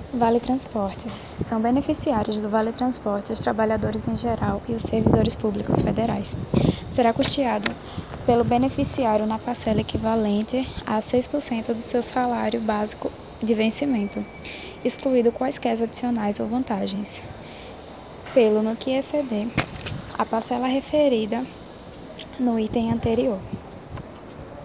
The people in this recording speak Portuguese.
Vale Transporte. São beneficiários do Vale Transporte os trabalhadores em geral e os servidores públicos federais. Será custeado pelo beneficiário na parcela equivalente a 6% do seu salário básico de vencimento, excluído quaisquer adicionais ou vantagens, pelo no que exceder a parcela referida no item anterior.